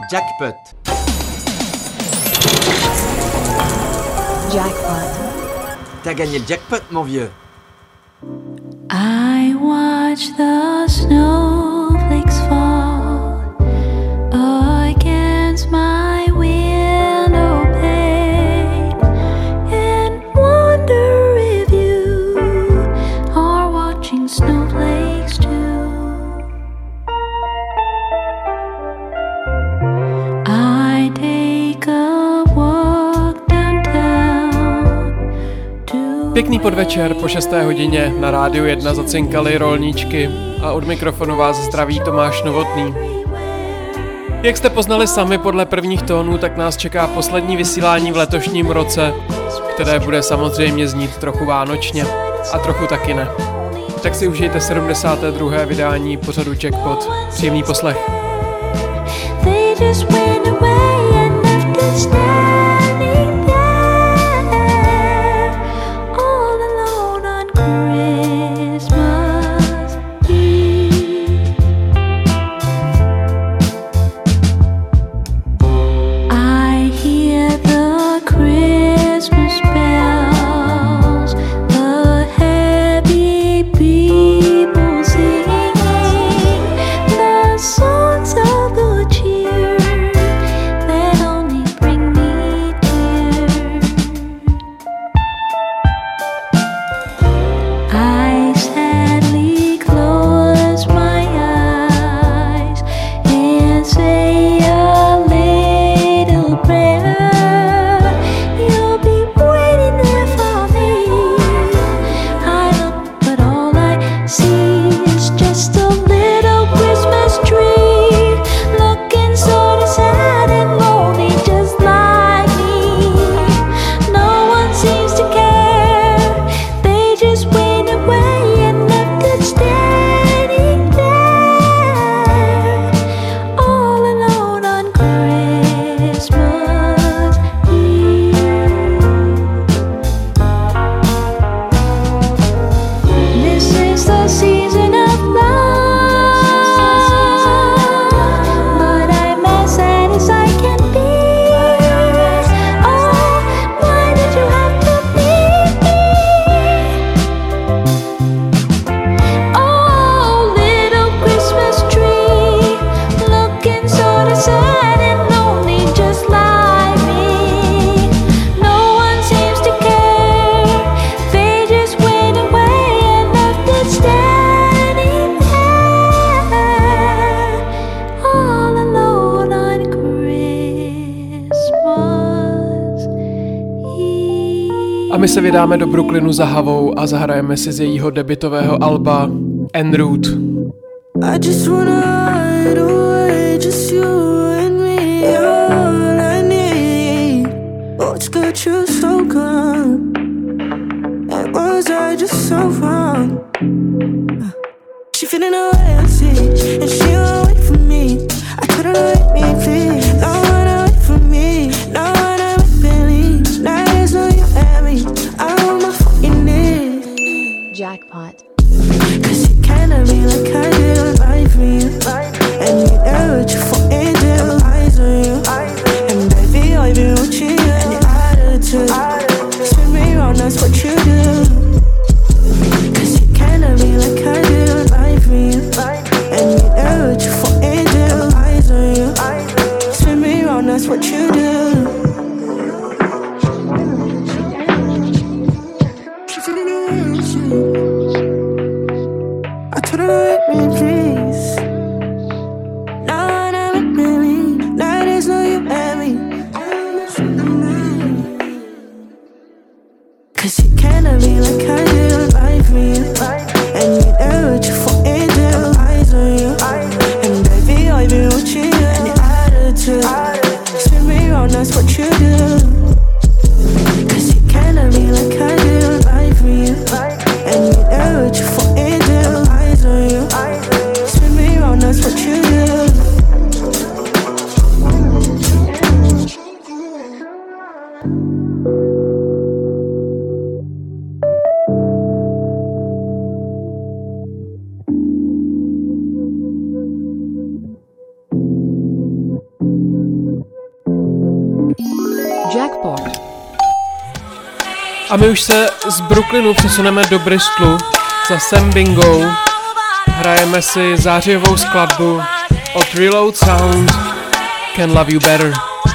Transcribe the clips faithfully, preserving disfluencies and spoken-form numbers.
Jackpot. Jackpot. T'as gagné le jackpot, mon vieux. I watch the snowflakes fall against my window pane and wonder if you are watching snowflakes too. I take a walk downtown to Pěkný podvečer, po šesté hodině na Rádiu jedna zacinkaly rolníčky a od mikrofonu vás zdraví Tomáš Novotný. Jak jste poznali sami podle prvních tónů, tak nás čeká poslední vysílání v letošním roce, které bude samozřejmě znít trochu vánočně a trochu taky ne. Tak si užijte sedmdesáté druhé vydání pořadu Jackpot. Příjemný poslech. They just went away and left us standing there, all alone on Christmas Eve. I hear the Christmas bells, the happy people singing the songs of the cheer that only bring me tears. I sadly close my eyes and say a little prayer. You'll be waiting there for me. I look, but all I see is just a little Christmas tree, looking sort of sad and lonely, just like me. No one seems to care. They just went away and left it standing there, all alone on Christmas Eve. This is the season of love, but I'm as sad as I can be. Oh, why did you have to leave me? Oh, little Christmas tree, looking sort of sad and lonely, just like me. No one seems to care. They just went away and left it standing there, all alone on Christmas Eve. A my se vydáme do Brooklynu za Havou a zahrajeme si z jejího debutového alba En route. I just wanna hide away, just you and me, you're all I need. What's got you so gone? And was I just so wrong? She feeling the way I see, and she won't wait for me. I told her to wait me, please. No one to wait for me, no one to wait believe. Now there's no you and me, I'm on my fucking knees. Jackpot. Cause you cannot be like I did, right for you. And you know what you fall into, eyes on you. And baby, I've been watching you and your attitude. Spin me around, that's what you do. Cause you cannot be like I did, right for you. And you know what you fall into, eyes on you. Spin me around, that's what you do. I told her to wait me, please. No one ever with me. Now there's no you and me. Cause you cannot be like I did, right for you. And you know what you fall into, eyes on you. And baby, I've been watching you and your attitude. Spin me around, that's what you do. Cause you cannot be like I did, right for you. And you know what you fall into, eyes on you. Spin me around, that's what you do. Thank you. Jackpot. A my už se z Brooklynu přesuneme do Bristolu za Sam Bingo. Hrajeme si zářijovou skladbu od Reload Sound, Can Love You Better.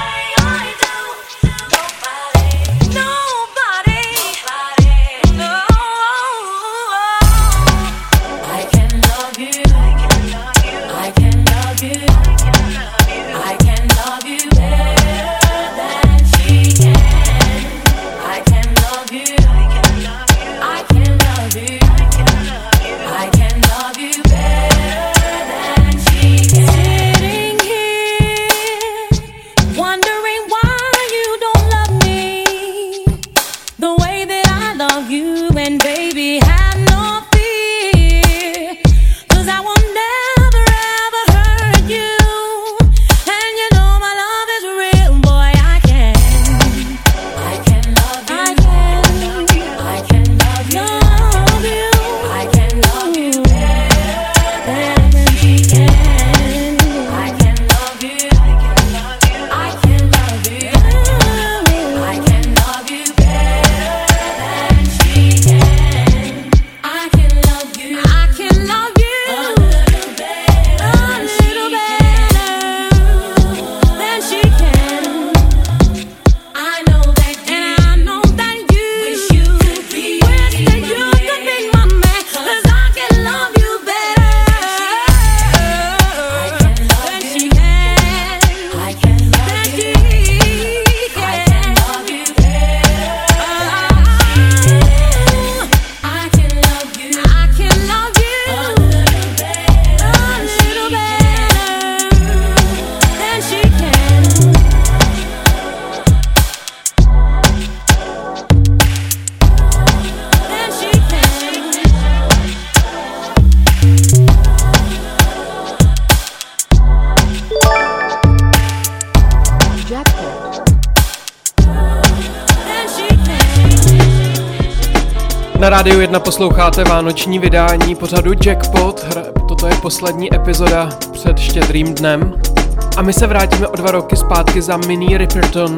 Na Rádiu jedna posloucháte vánoční vydání pořadu Jackpot. Toto je poslední epizoda před Štědrým dnem. A my se vrátíme o dva roky zpátky za Minnie Riperton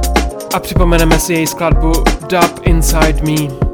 a připomeneme si její skladbu Dub Inside Me.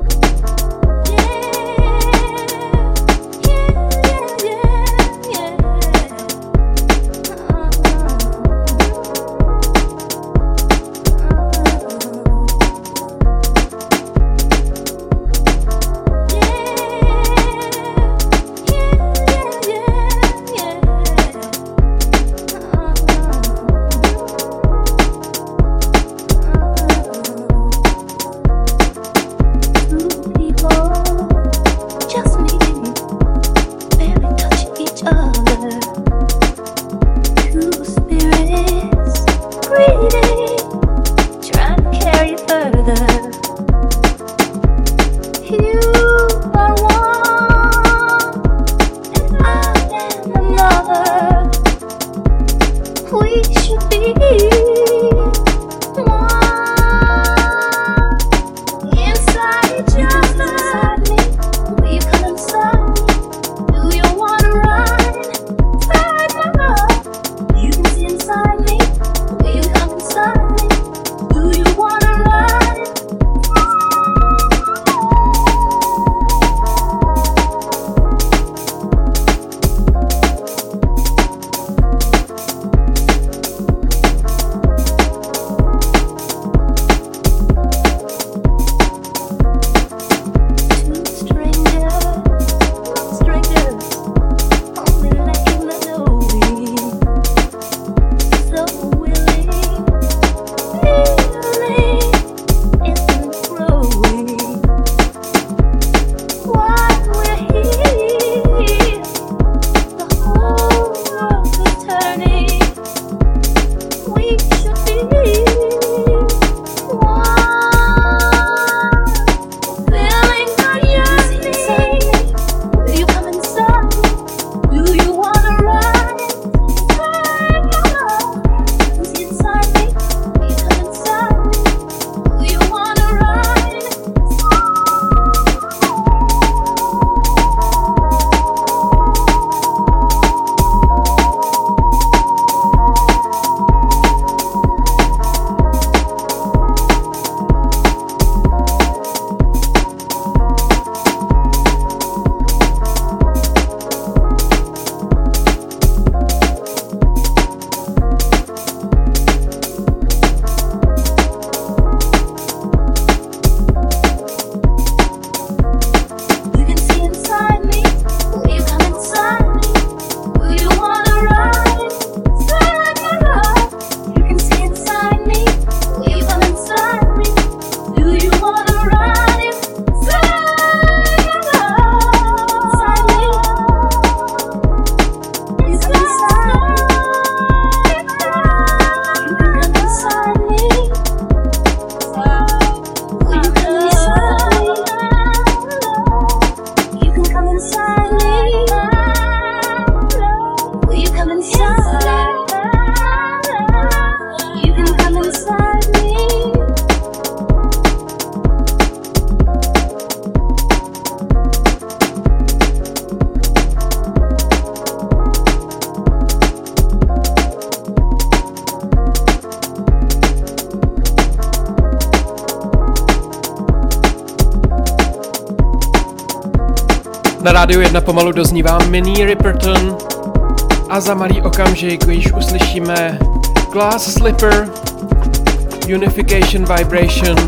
Na rádiu jedna pomalu doznívá Minnie Riperton a za malý okamžik již uslyšíme Glass Slipper, Unification Vibration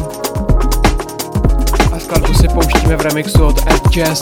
a skladbu si pouštíme v remixu od Ed Jazz.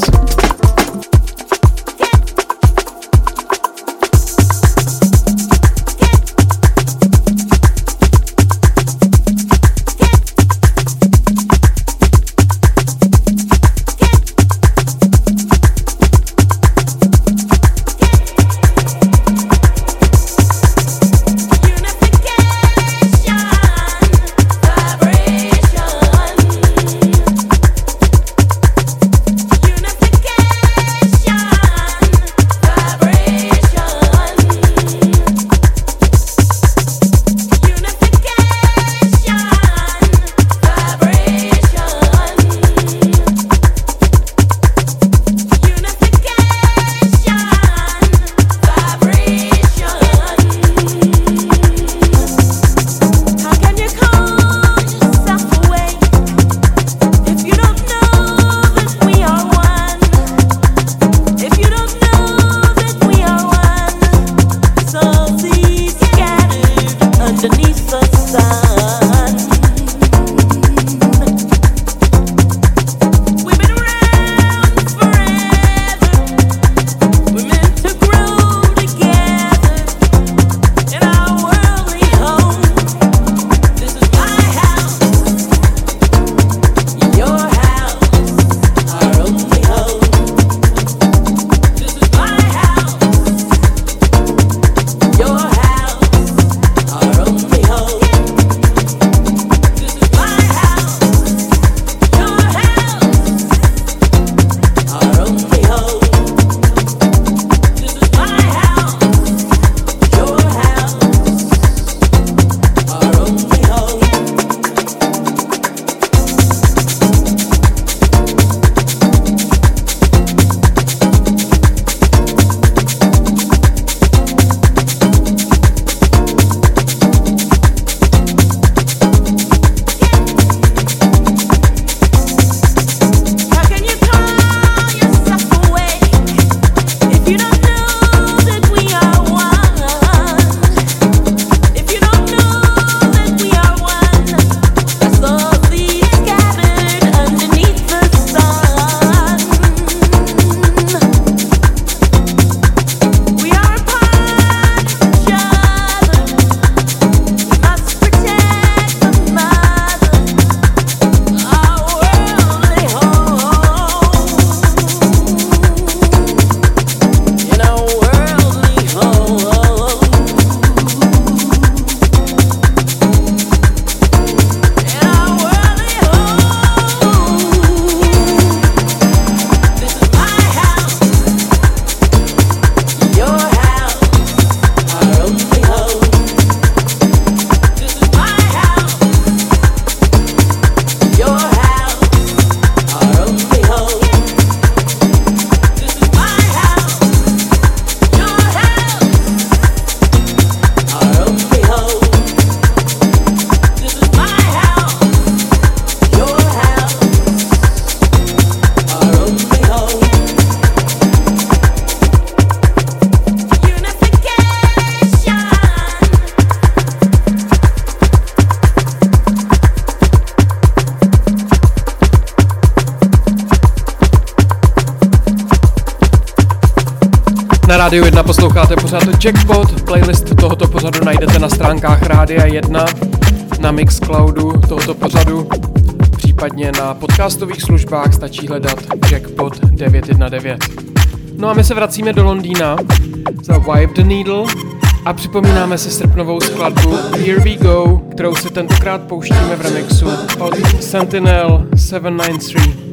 Na Rádiu jedna posloucháte pořád Jackpot, playlist tohoto pořadu najdete na stránkách Rádia jedna, na Mixcloudu tohoto pořadu, případně na podcastových službách stačí hledat Jackpot devět jedna devět. No a my se vracíme do Londýna za Wipe the Needle a připomínáme si srpnovou skladbu Here We Go, kterou si tentokrát pouštíme v remixu od Sentinel sedm nine tři.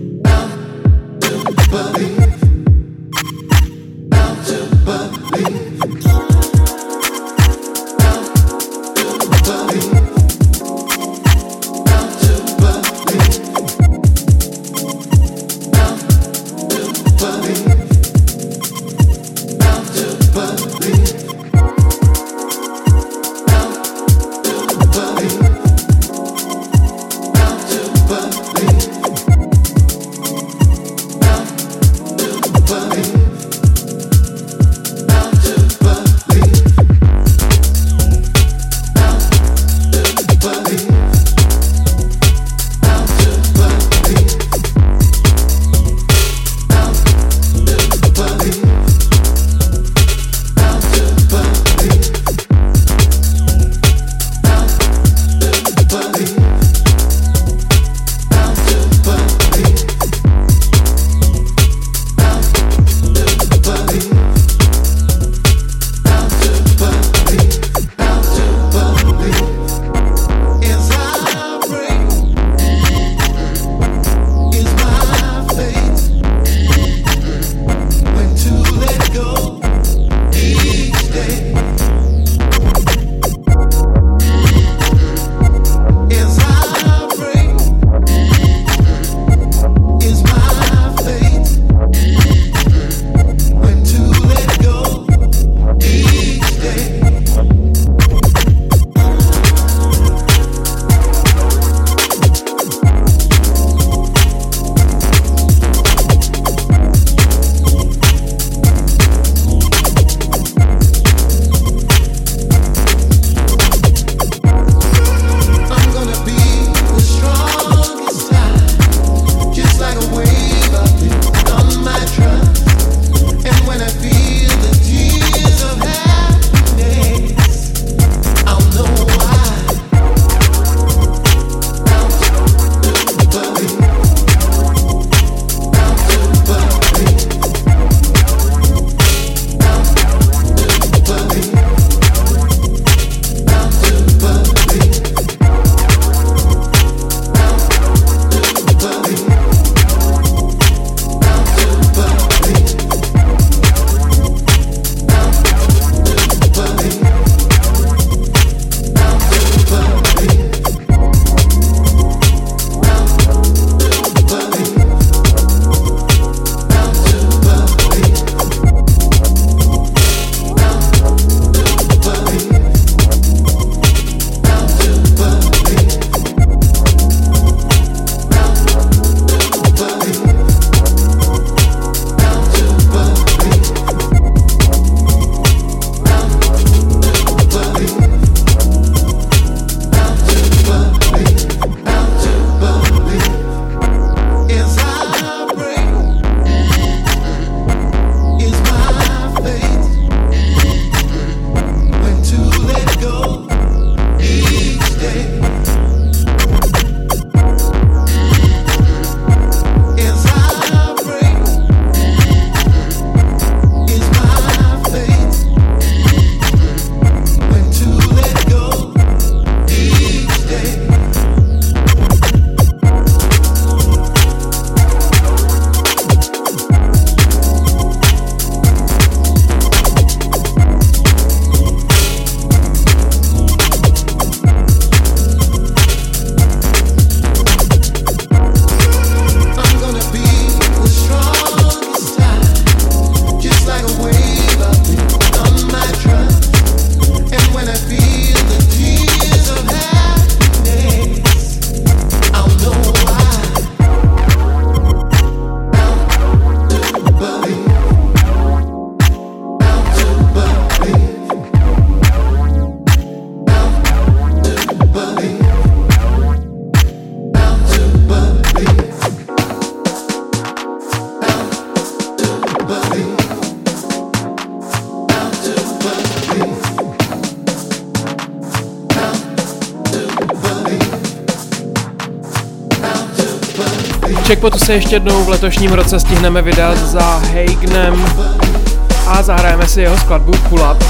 But Jackpotu se ještě jednou v letošním roce stihneme vydat za Hagenem a zahrajeme si jeho skladbu Pull Up.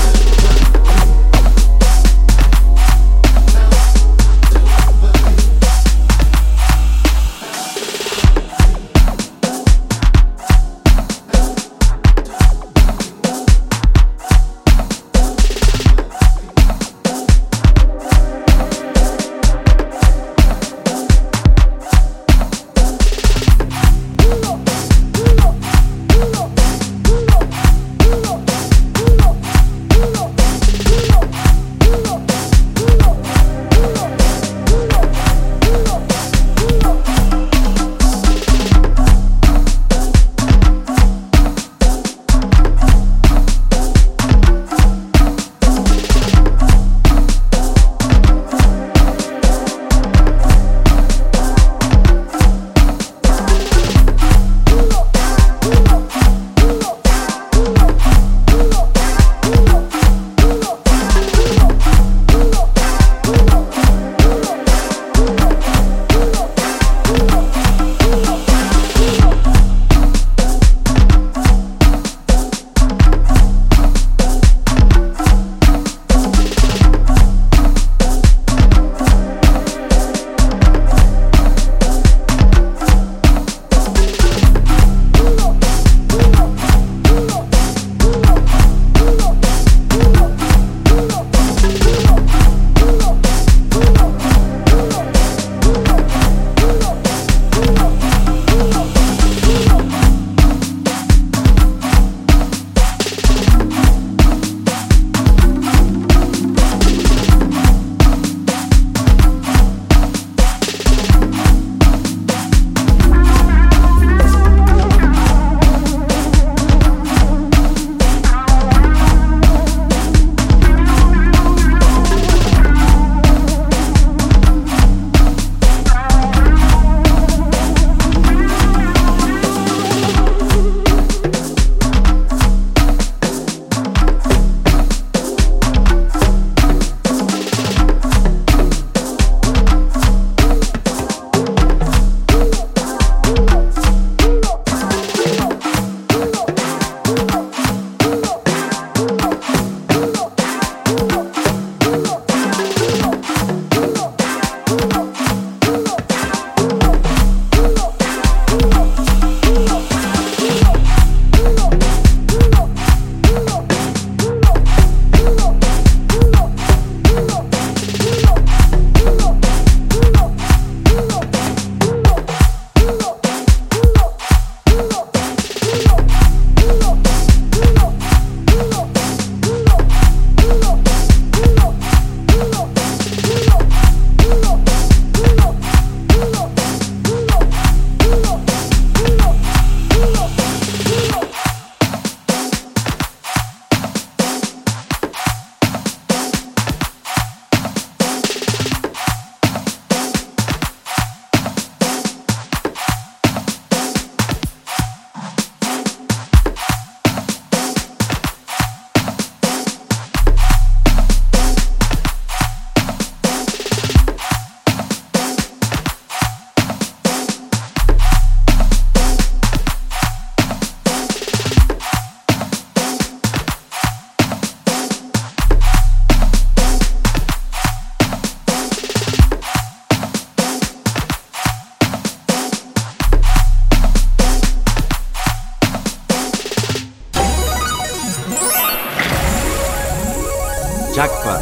Jackpot.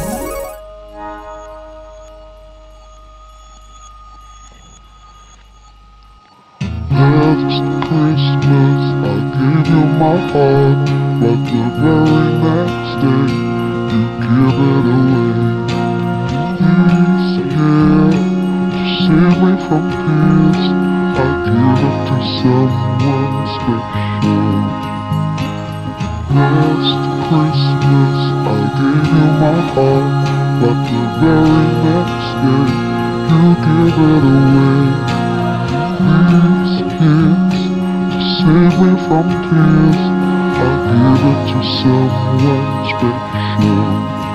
Last Christmas I gave you my heart, but the very next day you give it away. This year, to save me from tears, I give it to someone special. Last Christmas I gave you my heart, but the very next day you give it away. These kids, to save me from tears, I give it to someone special.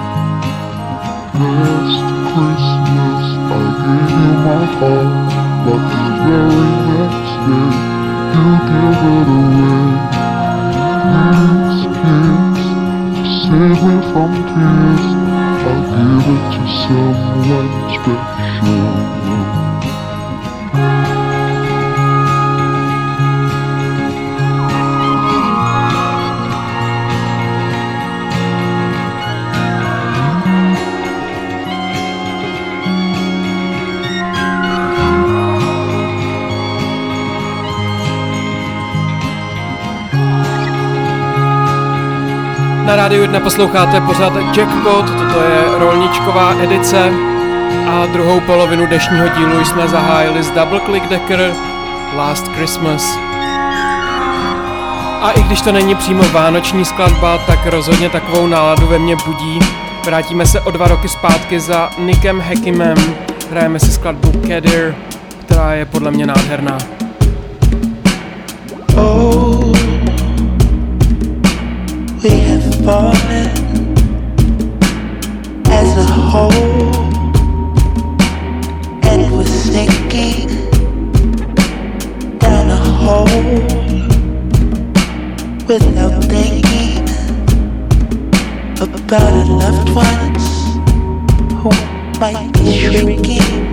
Last Christmas I gave you my heart, but the very next you give it away. Kiss, kiss, save me from tears. I'll give it to someone special. Na Rádiu jedna posloucháte pořád Jackpot, toto je rolničková edice a druhou polovinu dnešního dílu jsme zahájili s Double Click Decker Last Christmas. A i když to není přímo vánoční skladba, tak rozhodně takovou náladu ve mně budí. Vrátíme se o dva roky zpátky za Nickem Hackimem, hrajeme si skladbu Kadir, která je podle mě nádherná. Oh, we have fallen as a whole, and we're sinking down a hole without thinking about our loved ones who might be shrinking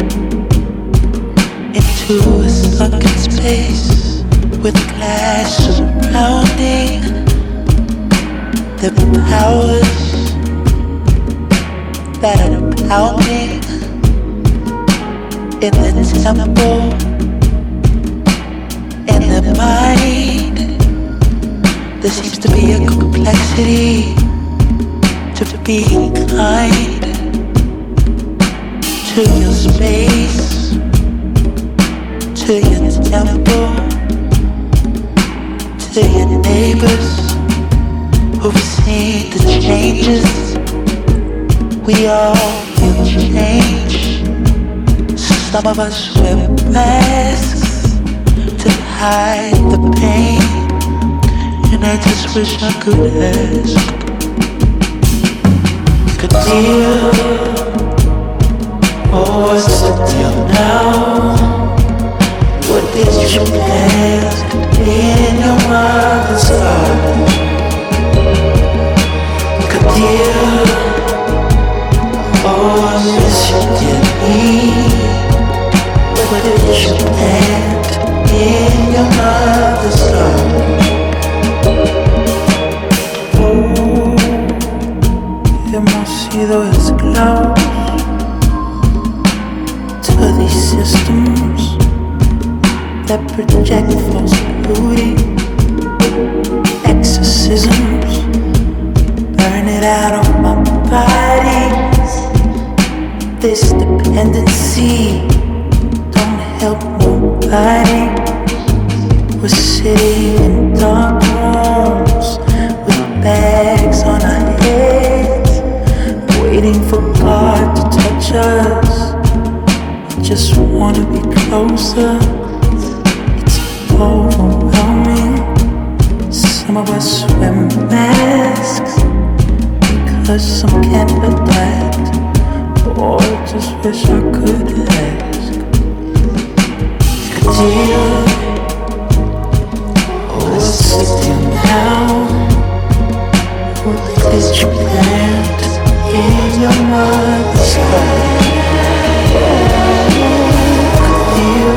into a sunken space with glass surrounding the powers that are pounding in the temple, in the mind. There seems to be a complexity to being kind to your space, to your temple, to your neighbors who've seen the changes. We all feel change. Some of us wear masks to hide the pain, and I just wish I could ask, could deal, oh, what's the deal now? What did you ask in your mother's heart? Could deal, oh, I miss you dearly. What did you plant in your mother's heart? Oh, hemos sido esclavos to these systems that project false beauty, exorcisms, burn it out of my body. This dependency don't help nobody. We're sitting in dark rooms with bags on our heads, waiting for God to touch us. We just wanna be closer. It's overwhelming. Some of us wear masks because some can't adapt. Oh, I just wish I could ask. Could you, oh, sit down now. What did you plant in your mother's heart? Could you,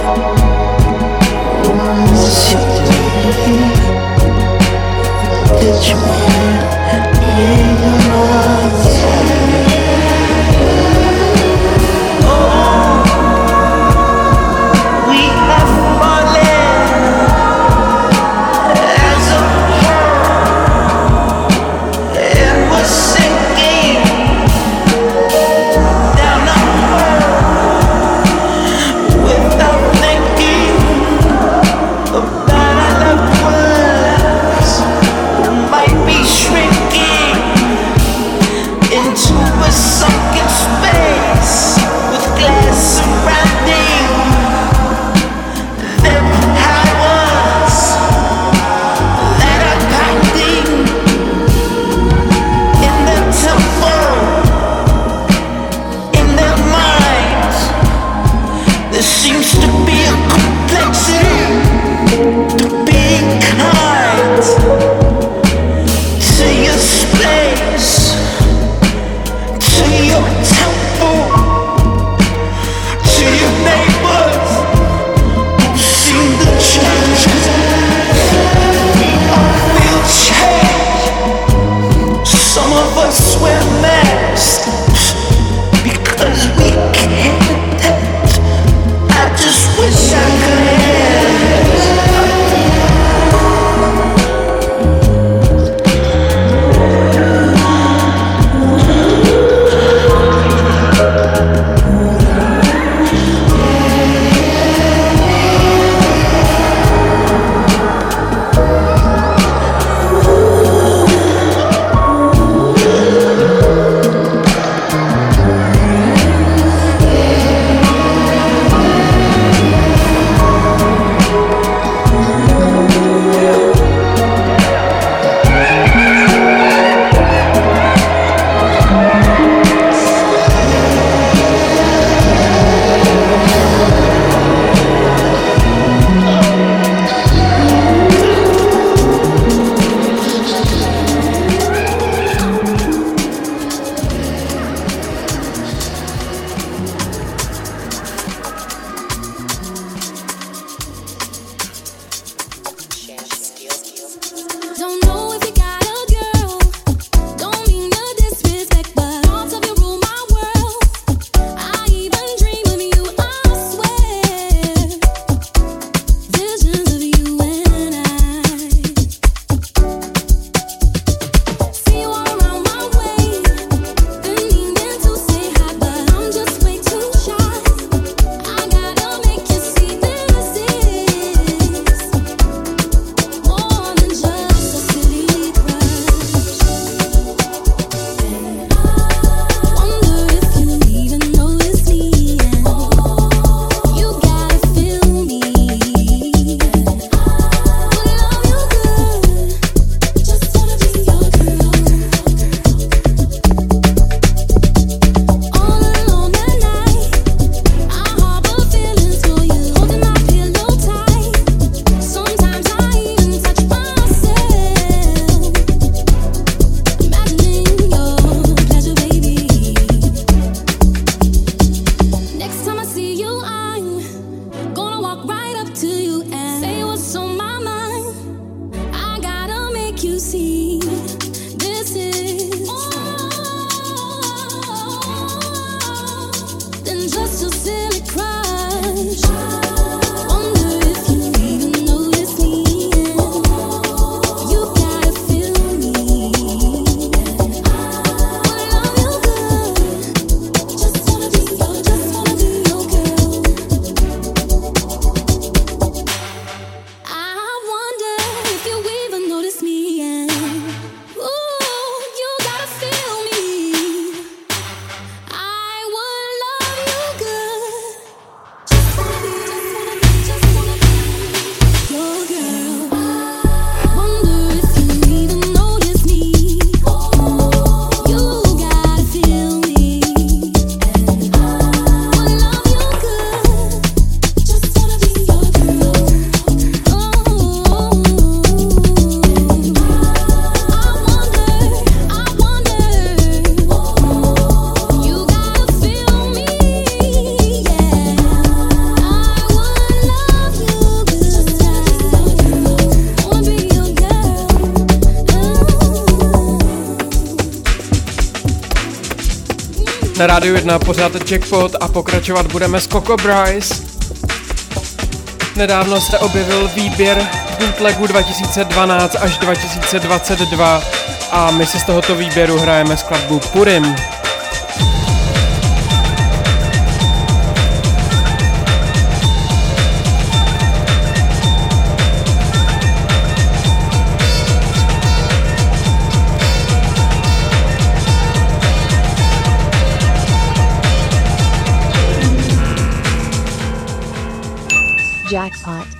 oh, sit down. What did you plant in your mother's heart? Shrink Na Rádiu jedna pořád Jackpot a pokračovat budeme s Coco Bryce. Nedávno se objevil výběr bootlegů dva tisíce dvanáct až dva tisíce dvacet dva a my si z tohoto výběru hrajeme skladbu Purim. Jackpot.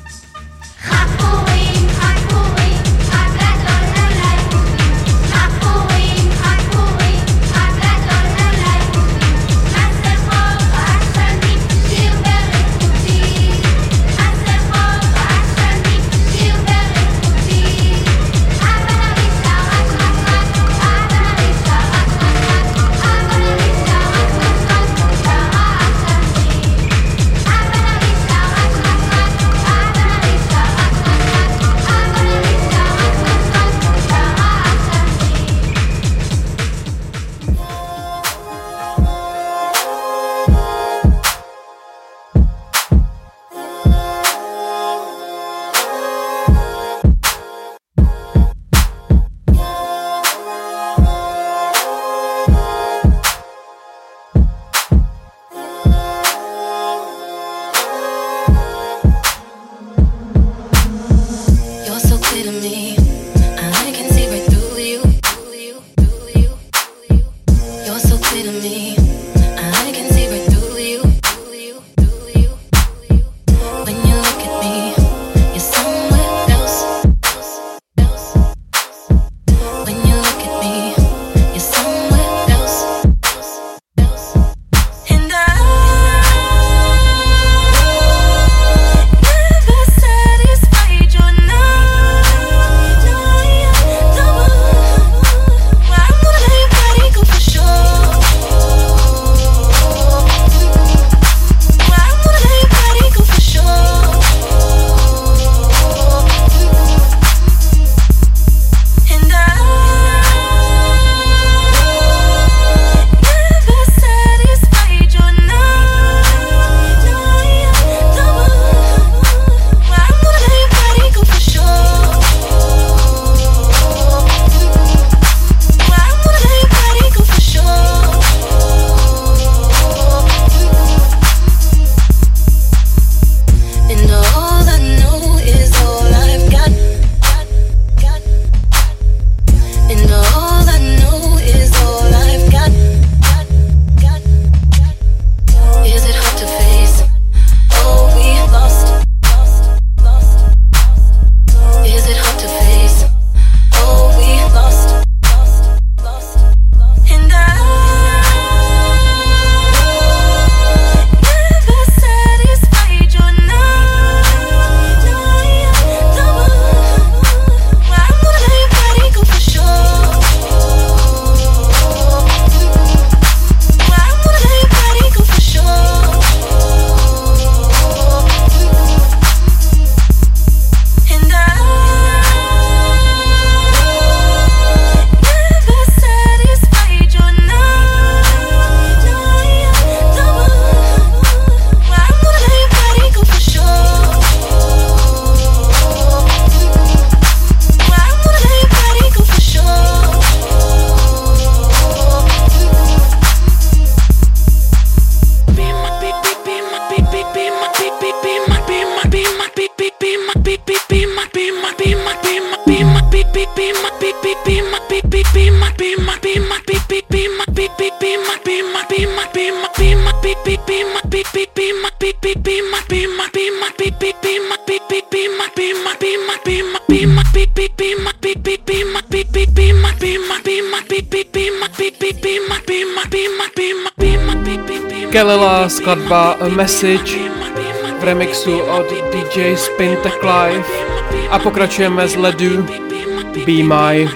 Kelela, skladba A Message v remixu od D J Spintek Live a pokračujeme z ledu Be My.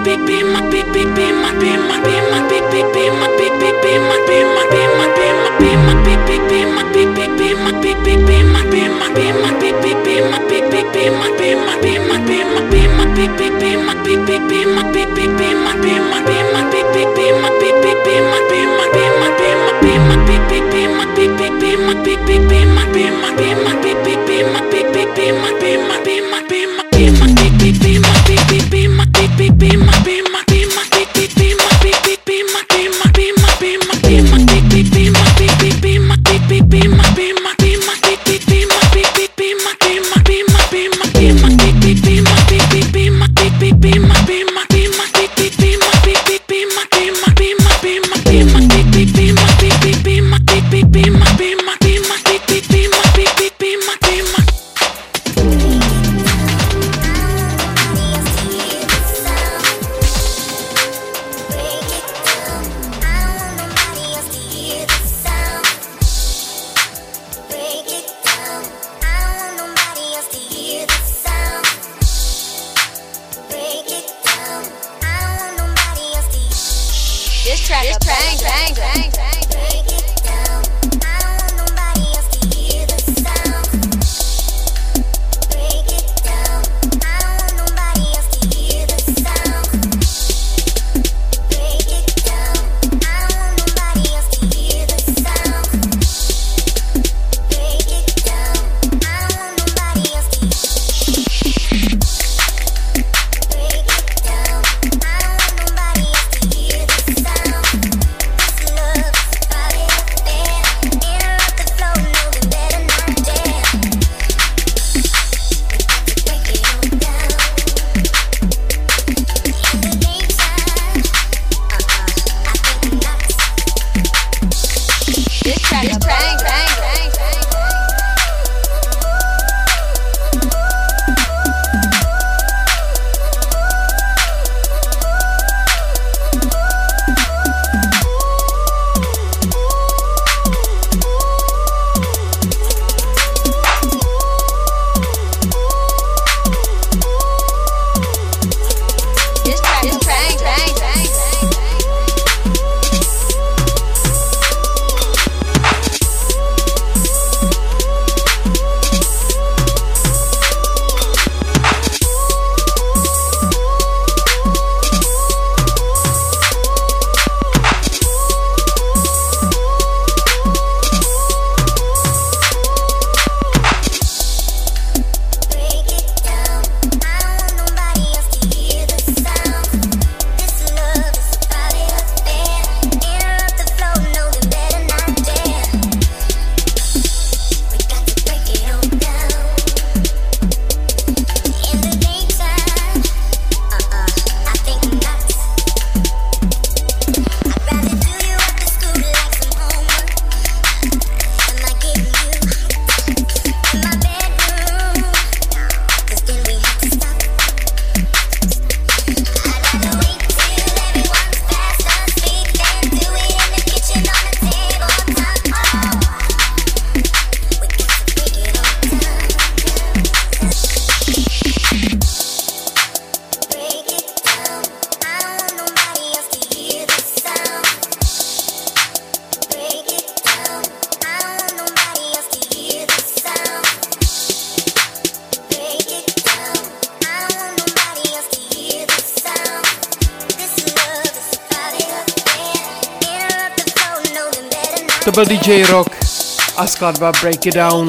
To byl D J Rock a skladba Break It Down.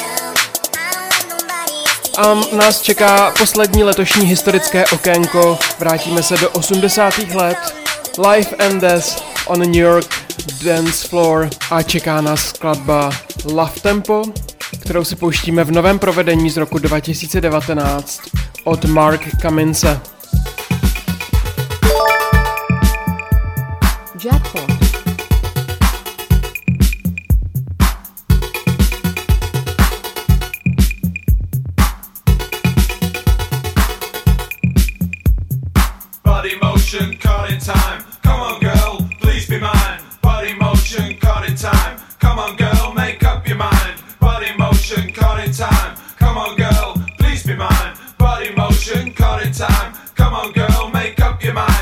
A nás čeká poslední letošní historické okénko. Vrátíme se do osmdesátých let. Life and Death on New York Dance Floor. A čeká nás skladba Love Tempo, kterou si pouštíme v novém provedení z roku dva tisíce devatenáct od Mark Kamince. Jackpot. Body motion, caught in time. Come on, girl, please be mine. Body motion, caught in time. Come on, girl, make up your mind. Body motion, caught in time. Come on, girl, please be mine. Body motion, caught in time. Come on, girl, make up your mind.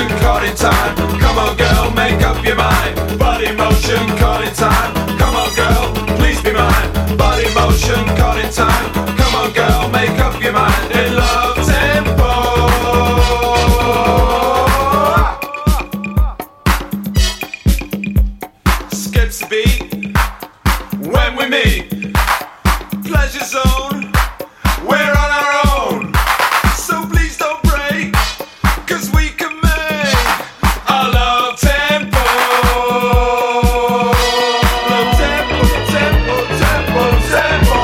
caught in time. Come on girl, make up your mind. Body motion, caught in time. Come on girl, please be mine. Body motion, caught in time. Come on girl, make up your mind. In love tempo. Skips a beat when we meet. Pleasure zone, we're on our own. So please don't break, cause we can make a love tempo. Love tempo, tempo, tempo, tempo.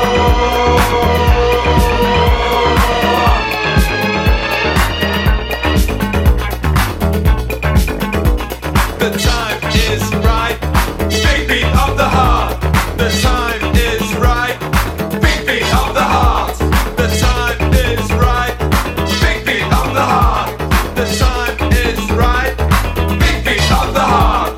The time is right, big beat of the heart. The time is right, big beat of the heart. The time is right, big beat of the heart. The time is right, big beat of the heart.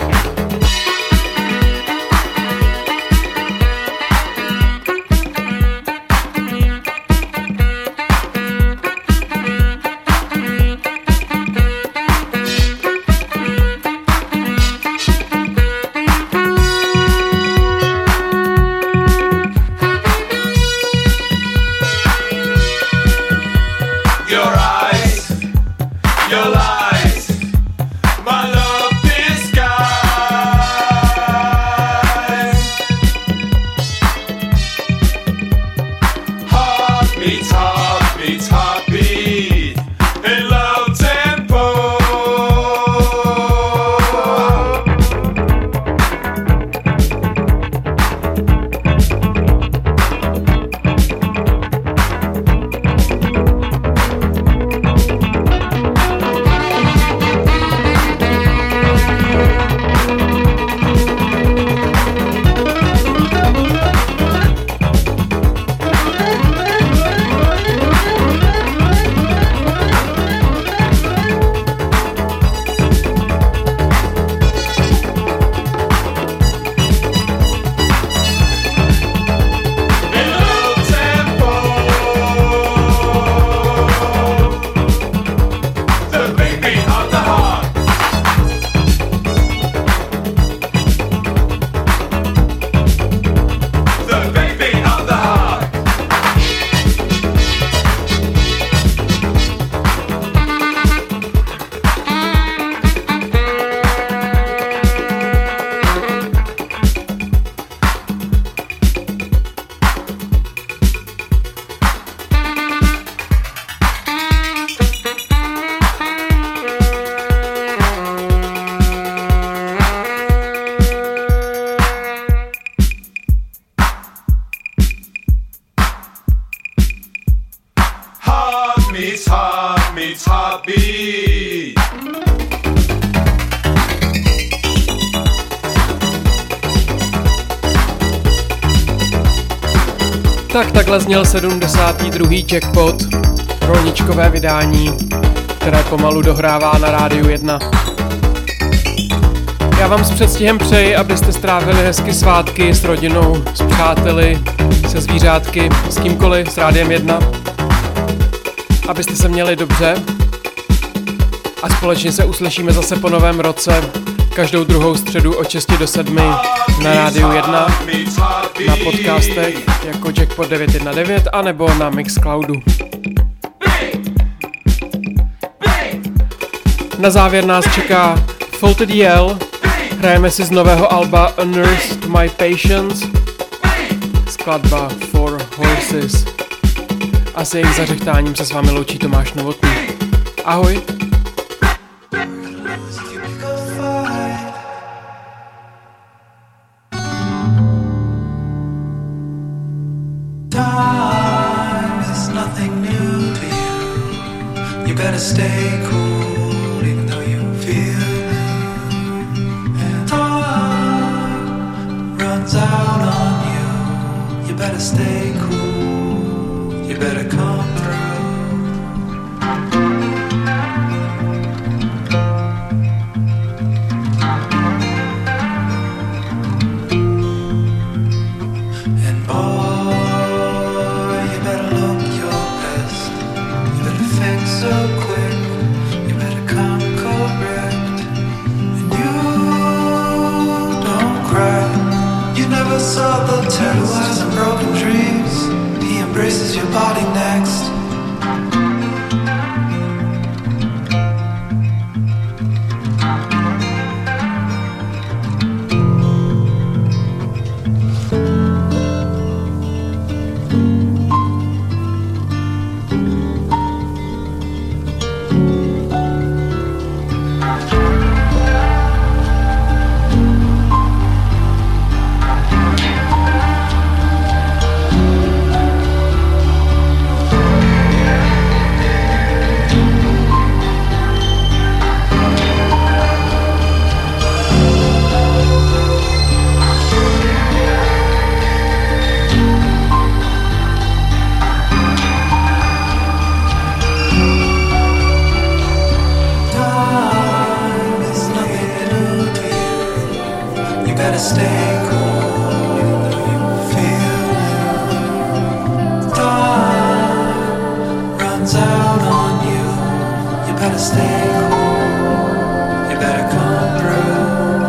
Your eyes, your lies, my love disguise. Heartbeat, heartbeat, heartbeat, in love tempo. In love tempo. The big beat of the heart. The big beat of the heart. Heart meets heart meets heartbeat. Tak takhle zněl sedmdesátý druhý Jackpot, rolničkové vydání, které pomalu dohrává na Rádiu jedna. Já vám s předstihem přeji, abyste strávili hezky svátky s rodinou, s přáteli, se zvířátky, s kýmkoliv, s Rádiem jedna. Abyste se měli dobře a společně se uslyšíme zase po novém roce každou druhou středu od šesti do sedmi na Rádiu jedna, na podcastech jako Jackpot devět jedna devět anebo na Mixcloudu. Na závěr nás čeká Faulted Yell, hrajeme si z nového alba A Nurse to My Patience, skladba For Horses. A s jejich zařechtáním se s vámi loučí Tomáš Novotný. Ahoj! Time is nothing new to you. You better stay cool even though you feel new. And time runs out on you. You better stay cool. You better come through. And boy, you better look your best. You better fix up quick better stay cool, even though you feel blue. Time runs out on you. You better stay cool. You better come through.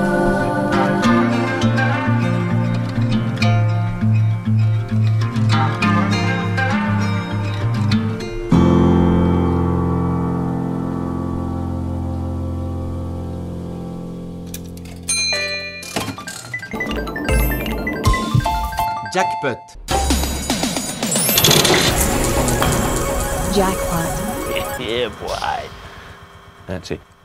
Jackpot. Jackpot. Yeah, boy. That's it.